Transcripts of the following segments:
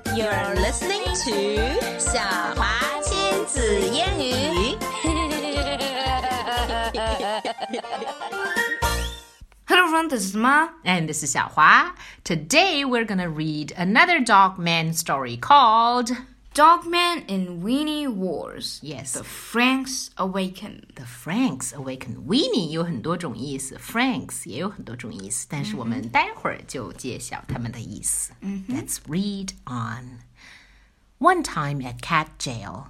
You're listening to 小华亲子英语。 Hello everyone, this is Ma. And this is 小华. Today we're gonna read another Dogman story called Dogman in Weenie Wars. Yes. The Franks Awaken. The Franks Awaken. Weenie 有很多种意思 Franks 也有很多种意思但是我们待会儿就揭晓它们的意思 Let's read on. One time at cat jail.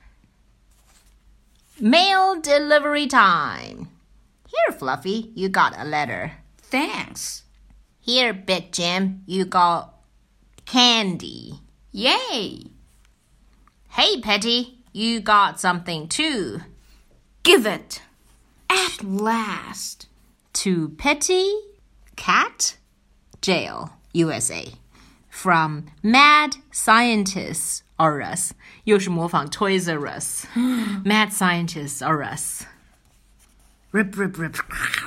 Mail delivery time. Here, Fluffy, you got a letter. Thanks. Here, Big Jim, you got candy. Yay. Hey, Petty, you got something too. Give it. At last. To Petty, Cat, Jail, USA. From Mad Scientists R Us. 又是模仿 Toys R Us. Mad Scientists R Us. Rip, rip, rip.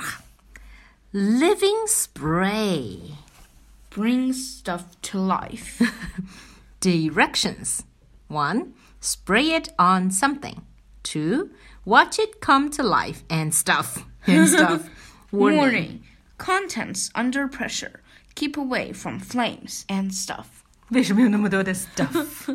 Living spray. Brings stuff to life. Directions. 1. Spray it on something. 2. Watch it come to life and stuff. Warning. Contents under pressure. Keep away from flames and stuff. 为什么有那么多的 stuff?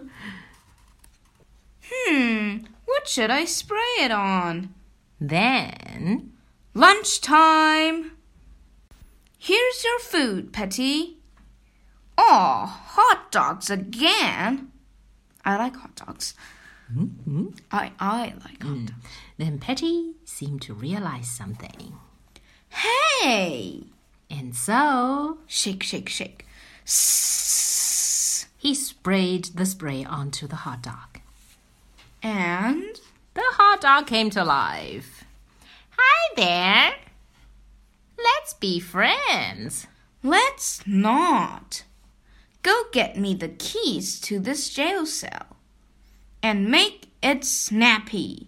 What should I spray it on? Then, Lunchtime. Here's your food, Petty. Aw, hot dogs again. I like hot dogs. I like hot dogs. then Petty seemed to realize something. Hey! And so, Shake, shake, shake. Sss. he sprayed the spray onto the hot dog. And The hot dog came to life. Hi there. Let's be friends. let's not. Go get me the keys to this jail cell. And make it snappy.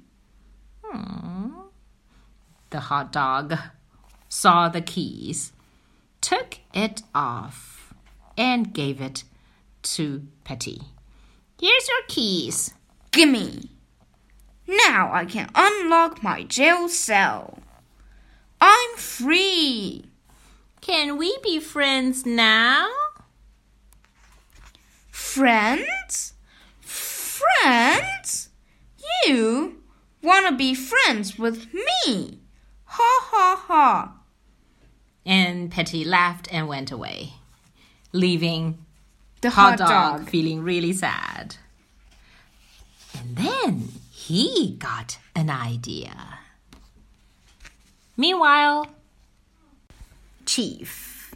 The hot dog saw the keys, took it off, and gave it to Petty. Here's your keys. Gimme. Now I can unlock my jail cell. I'm free. Can we be friends now? Friends? Friends? You want to be friends with me? Ha ha ha. And Petty laughed and went away, leaving The hot dog feeling really sad. And then he got an idea. Meanwhile, Chief.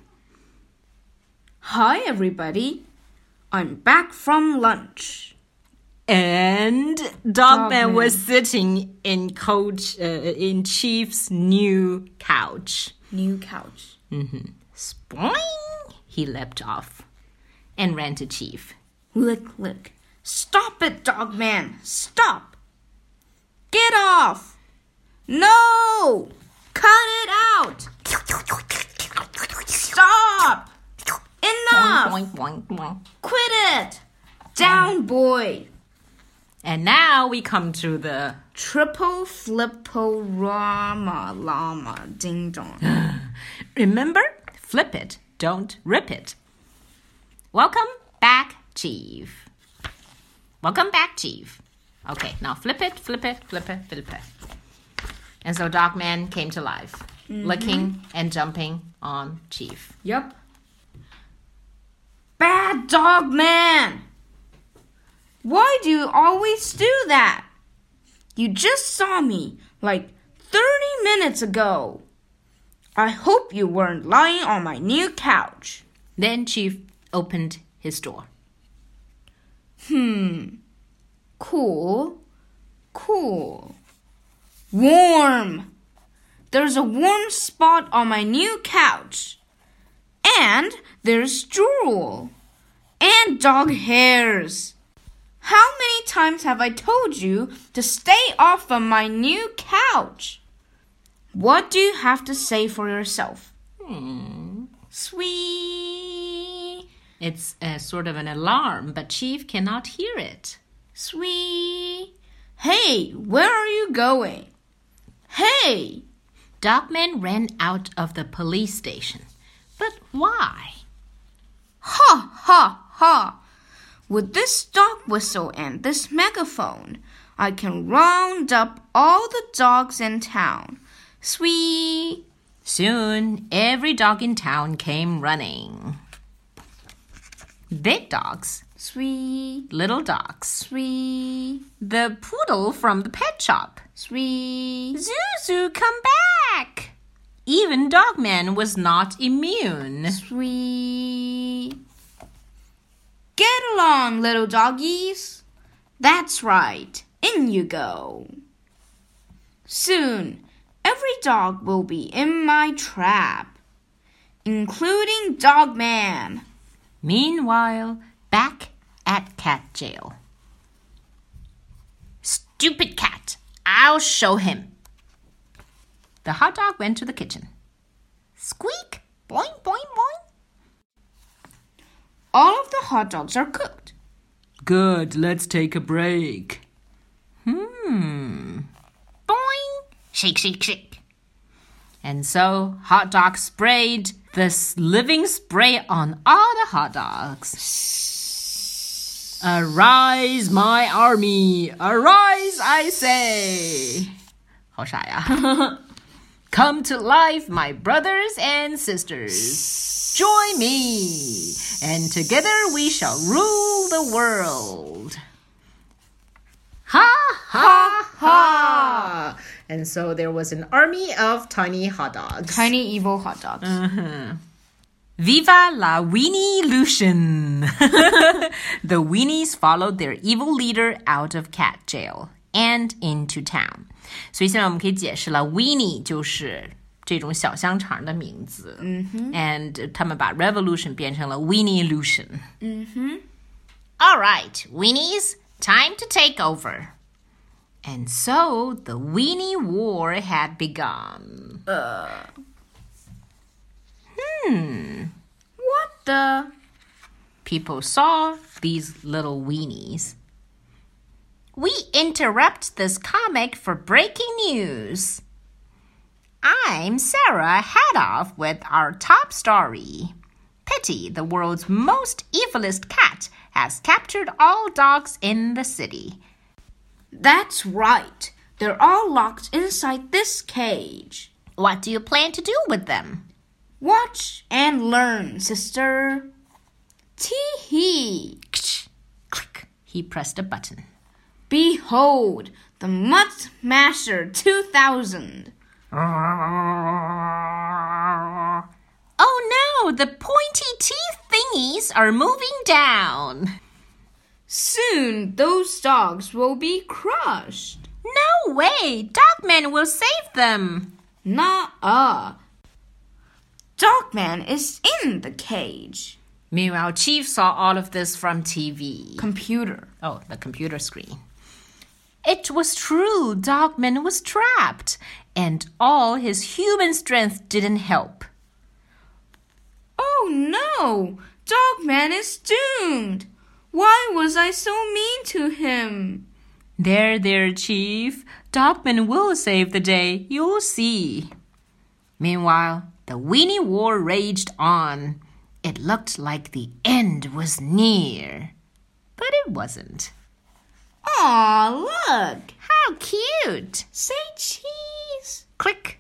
Hi everybody. I'm back from lunch. And Dogman was sitting in Chief's new couch. New couch. Spoing! He leapt off and ran to Chief. Lick, lick. Stop it, Dogman. Stop. Get off. No. Cut it out. Stop. Enough. Boing, boing, boing. Quit it. Down, boy. And now we come to the Triple flippo rama llama ding dong. remember, flip it, don't rip it. Welcome back, Chief. Welcome back, Chief. Okay, now flip it, flip it, flip it, flip it. And so Dogman came to life, licking and jumping on Chief. Yep. Bad Dogman. Why do you always do that? You just saw me like 30 minutes ago. I hope you weren't lying on my new couch. Then Chief opened his door. Cool. Warm. There's a warm spot on my new couch. And there's drool. And dog hairs. How many times have I told you to stay off of my new couch? What do you have to say for yourself? Sweet. It's a sort of an alarm, but Chief cannot hear it. Sweet. Hey, where are you going? Hey! Dogman ran out of the police station. But why? Ha, ha, ha! With this dog whistle and this megaphone, I can round up all the dogs in town. Sweet! Soon, every dog in town came running. Big dogs. Sweet. Little dogs. Sweet. The poodle from the pet shop. Sweet. Zuzu, come back! Even Dogman was not immune. Sweet. Get along, little doggies. That's right. In you go. Soon, every dog will be in my trap, including Dogman. Meanwhile, back at cat jail. Stupid cat! I'll show him. The hot dog went to the kitchen. Squeak! Boing, boing, boing. All of the hot dogs are cooked. Good, let's take a break. Boing! Shake, shake, shake. And so, hot dog sprayed this living spray on all the hot dogs. Arise, my army! Arise, I say! 好傻呀. Come to life, my brothers and sisters. Join me, and together we shall rule the world. Ha, ha, ha! And so there was an army of tiny hot dogs. Tiny evil hot dogs. Viva la Weenie Lucian! The weenies followed their evil leader out of cat jail and into town. 所以现在我们可以解释了 Weenie 就是这种小香肠的名字。And 他们把 revolution 变成了 Weenie Lucian. All right, weenies, time to take over. And so the Weenie War had begun. What the? People saw these little weenies. We interrupt this comic for breaking news. I'm Sarah Hadoff with our top story. Pitty, the world's most evilest cat, has captured all dogs in the city. That's right. They're all locked inside this cage. What do you plan to do with them? Watch and learn, sister. Tee-hee. Click. He pressed a button. Behold, the Mutt Masher 2000. Oh no, the pointy teeth thingies are moving down. Soon those dogs will be crushed. No way, Dogman will save them. Nuh-uh. Dogman is in the cage. Meanwhile, Chief saw all of this from TV. Computer. Oh, the computer screen. It was true, Dogman was trapped, and all his human strength didn't help. Oh no! Dogman is doomed! Why was I so mean to him? There, Chief. Dogman will save the day, you'll see. Meanwhile, the Weenie War raged on. It looked like the end was near. But it wasn't. Aw, look! How cute! Say cheese! Click.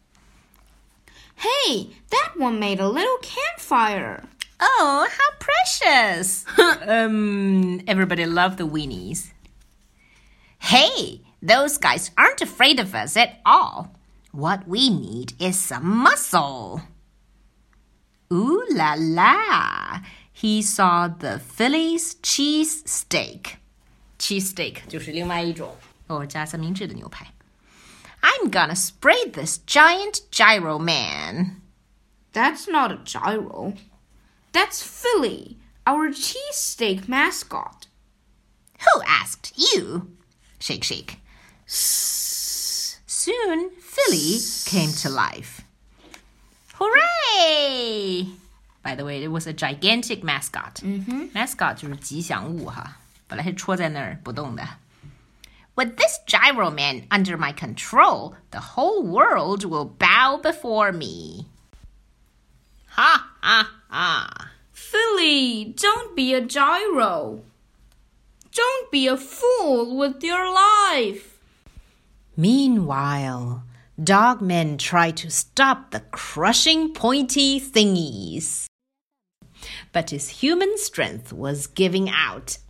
Hey, that one made a little campfire. Oh, how precious! Everybody loved the weenies. Hey, those guys aren't afraid of us at all. What we need is some muscle. Ooh la la! He saw the Philly's cheese steak. Cheese steak 就是另外一种加三明治的牛排。I'm gonna spray this giant gyro man. That's not a gyro. That's Philly, our cheesesteak mascot. Who asked you? Shake, shake. Soon, Philly came to life. Hooray! By the way, it was a gigantic mascot. Mascot 就是吉祥物哈，本来是戳在那儿不动的。With this gyro man under my control, the whole world will bow before me. Ha ha ha. Philly, don't be a gyro. Don't be a fool with your life. Meanwhile, dogmen try to stop the crushing pointy thingies. But his human strength was giving out.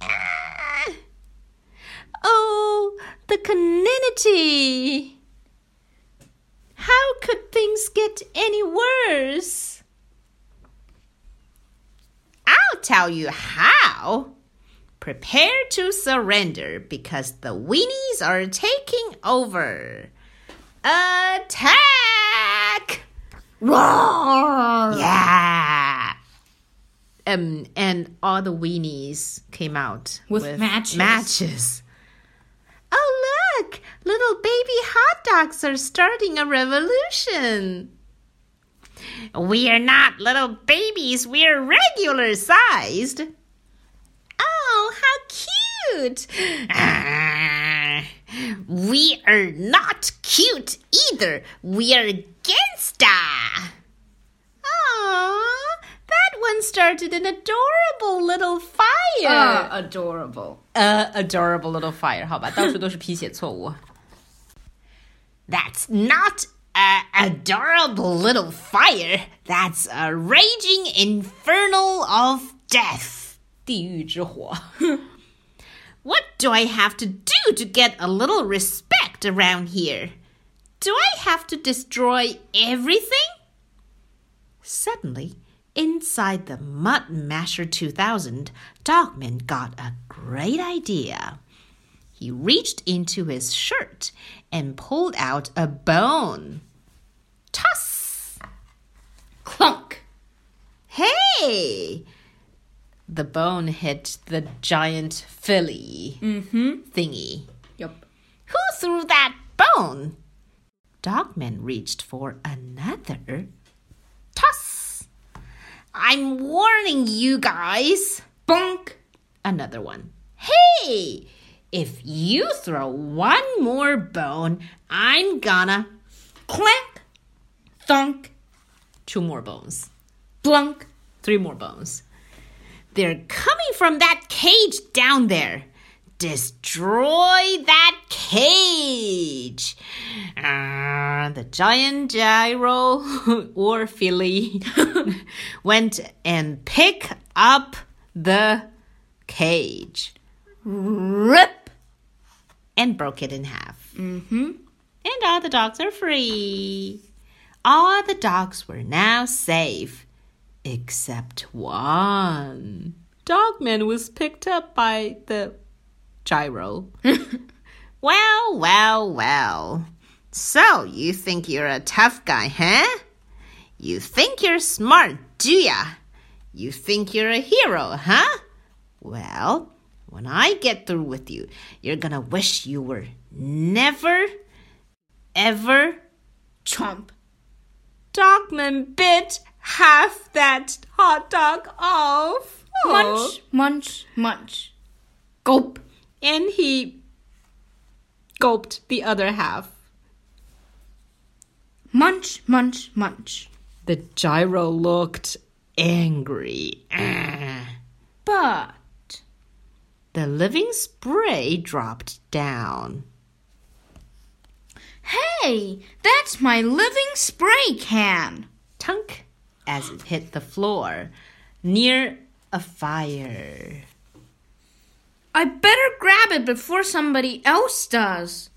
Oh, the caninity! How could things get any worse? I'll tell you how. Prepare to surrender because the weenies are taking over. Attack! Roar! Yeah. And all the weenies came out with matches. Oh, look! Little baby hot dogs are starting a revolution. We are not little babies. We're regular sized. Oh, how cute! We are not cute either. We are gangsta. Aww, that one started an adorable little fire. Adorable. Adorable little fire. 好吧，到处都是拼写错误。That's not an adorable little fire. That's a raging infernal of death. 地狱之火。What do I have to do to get a little respect around here? Do I have to destroy everything? Suddenly, inside the Mud Masher 2000, Dogman got a great idea. He reached into his shirt and pulled out a bone. Toss! Clunk! Hey! The bone hit the giant Philly thingy. Yup. Who threw that bone? Dogman reached for another. Toss! I'm warning you guys. Bonk! Another one. Hey! If you throw one more bone, I'm gonna... Clank! Thunk! 2 more bones. Blunk! 3 more bones. They're coming from that cage down there. Destroy that cage. The giant gyro or Philly went and picked up the cage. Rip! And broke it in half. And all the dogs are free. All the dogs were now safe. Except one. Dogman was picked up by the gyro. Well. So, you think you're a tough guy, huh? You think you're smart, do ya? You think you're a hero, huh? Well, when I get through with you, you're gonna wish you were never, ever... Chomp! Dogman bit half that hot dog off. Munch, munch, munch. Gulp. And he gulped the other half. Munch, munch, munch. The gyro looked angry. But the living spray dropped down. Hey, that's my living spray can. Tunk, as it hit the floor near a fire. I better grab it before somebody else does.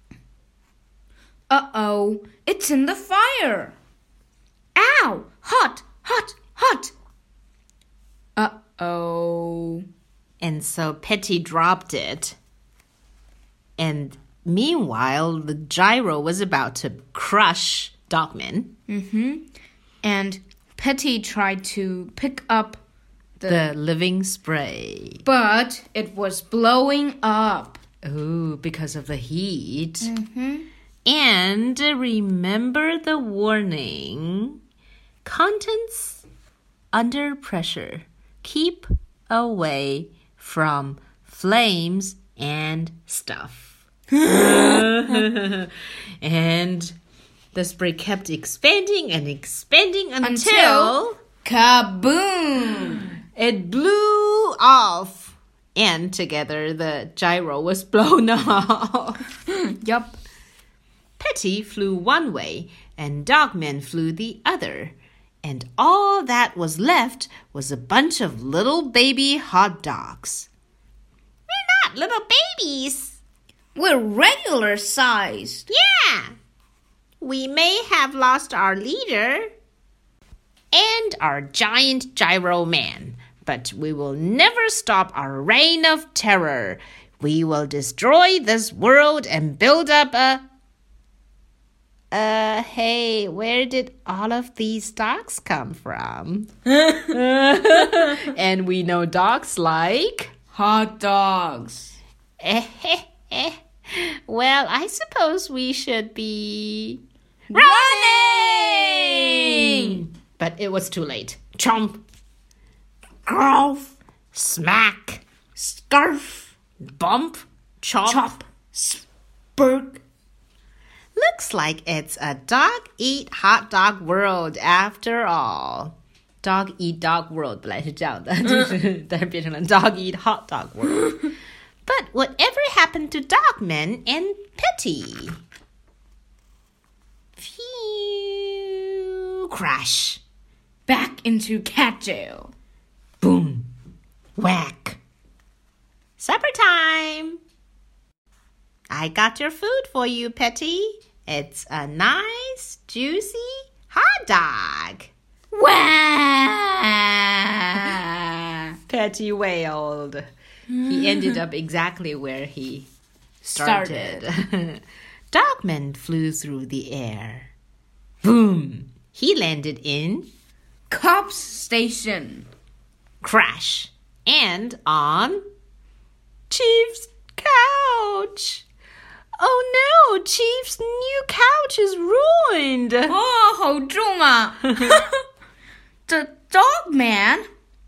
Uh-oh, it's in the fire. Ow, hot, hot, hot. Uh-oh. And so Petty dropped it. And meanwhile, the gyro was about to crush Dogman. And Petty tried to pick up the living spray. But it was blowing up. Oh, because of the heat. And remember the warning. Contents under pressure. Keep away from flames and stuff. And the spray kept expanding and expanding until kaboom! It blew off. And together the gyro was blown off. Yup. Petty flew one way and Dogman flew the other. And all that was left was a bunch of little baby hot dogs. We're not little babies. We're regular sized. Yeah. We may have lost our leader and our giant gyro man, but we will never stop our reign of terror. We will destroy this world and build up a... Hey, where did all of these dogs come from? And we know dogs like... Hot dogs. Well, I suppose we should be... Running! But it was too late. Chomp. Growth. Smack. Scarf. Bump. Chop. Chop. Spurk. Looks like it's a dog-eat-hot-dog world after all. Dog-eat-dog world 本来是这样的，但是变成了 dog-eat-hot-dog world. But whatever happened to Dogman and Petty? Phew. Crash. Back into cat jail. Boom. Whack. Supper time. I got your food for you, Petty. It's a nice, juicy hot dog. Wah! Petty wailed. He ended up exactly where he started. Dogman flew through the air. Boom! He landed in... Cops Station. Crash. And on... Chief's couch. Oh no! Chief's new couch is ruined. 哦，好重啊 The Dogman.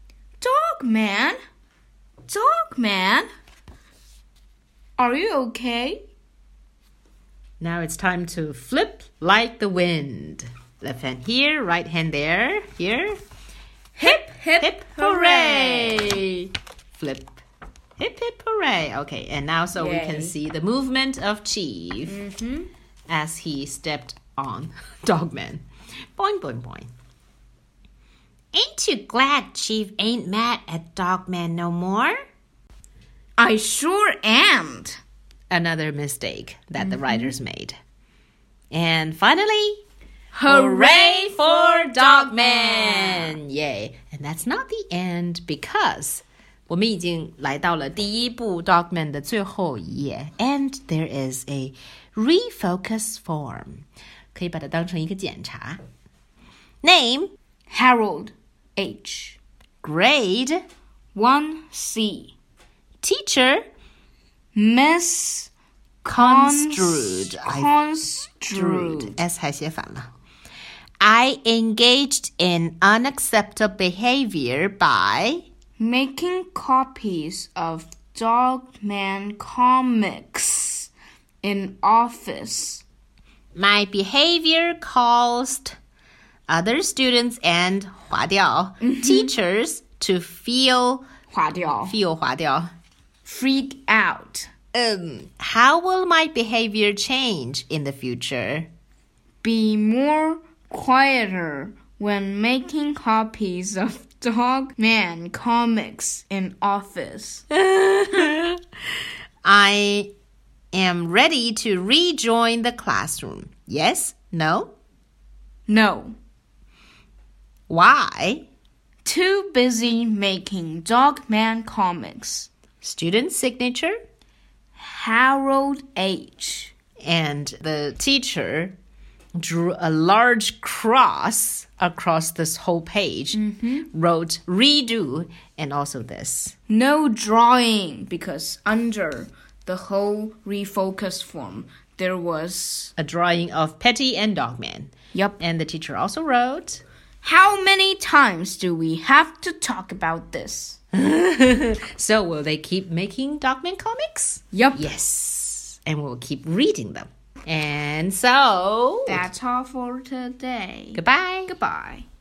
Dogman. Are you okay? Now it's time to flip like the wind. Left hand here, right hand there. Here. Hip, hip, Hip, hooray! Flip. Hip, hip, hooray. Okay, and now so we can Yay. see the movement of Chief as he stepped on Dogman. Boing, boing, boing. Ain't you glad Chief ain't mad at Dogman no more? I sure am. Another mistake that the writers made. And finally... Hooray for Dogman! Yay! And that's not the end because 我们已经来到了第一部 Dogman 的最后一页 and there is a refocus form. 可以把它当成一个检查。Name, Harold H. grade, 1C. teacher, Miss construed. Construed. S 还写反了。I engaged in unacceptable behavior by... Making copies of Dogman comics in office. My behavior caused other students and 划掉 teachers to feel 划掉划掉 freak out. How will my behavior change in the future? Be more quieter when making copies of Dogman comics in office. I am ready to rejoin the classroom. Yes? No? No. Why? Too busy making Dogman comics. Student signature? Harold H. And the teacher drew a large cross across this whole page, wrote redo, and also this. No drawing because under the whole refocus form there was... A drawing of Petty and Dogman. Yup. And the teacher also wrote... How many times do we have to talk about this? So will they keep making Dogman comics? Yep. Yes. And we'll keep reading them. And so... That's all for today. Goodbye. Goodbye.